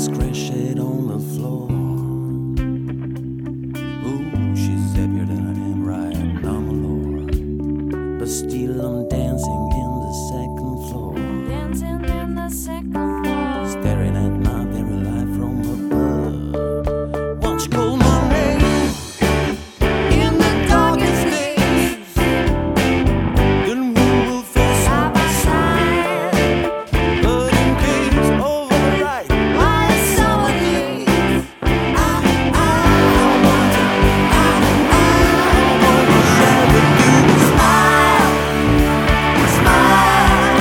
crash it on the floor. Ooh, she's happier than I am right now, my lord. But still I'm dancing in the second floor. Dancing in the second floor. Staring at my very life from above. Won't you call my name in the darkest days? Then we will fall side by side. But in case of a right, why is someone here? I want to share with you. Smile, smile,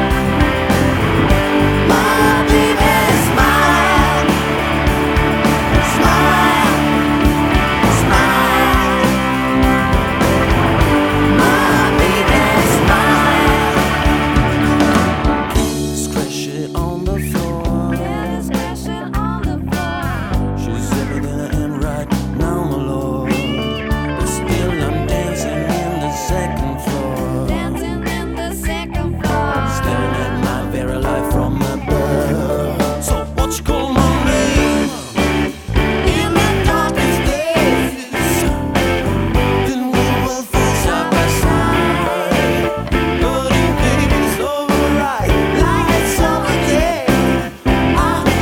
my baby, smile, smile, smile, my baby, smile. Scratch it on the floor. Yeah, it's crashing on the floor. She's everything I am right now, my lord. But still I'm dancing in the second floor. Dancing in the second floor. Staring at my very life from above. So what you call my name in the darkest days? Then we will fall side by side. But in case it's alright, like it's summer day. I want to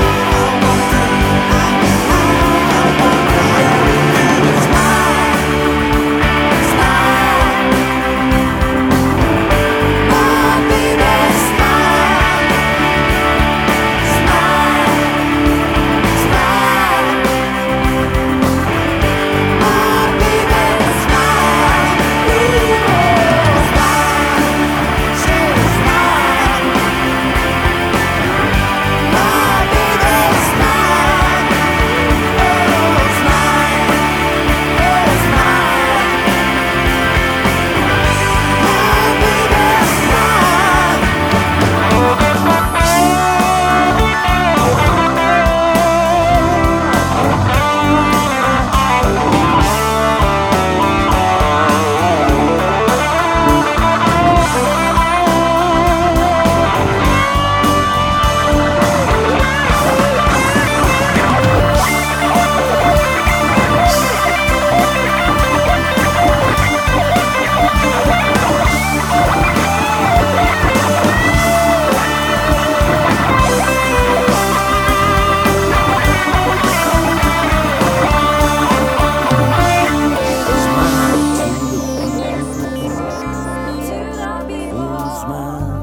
smile, smile, my baby, smile, smile, smile, my baby, smile, smile, say smile, my baby, smile, oh smile, oh smile, my baby, smile. To the people. Smile.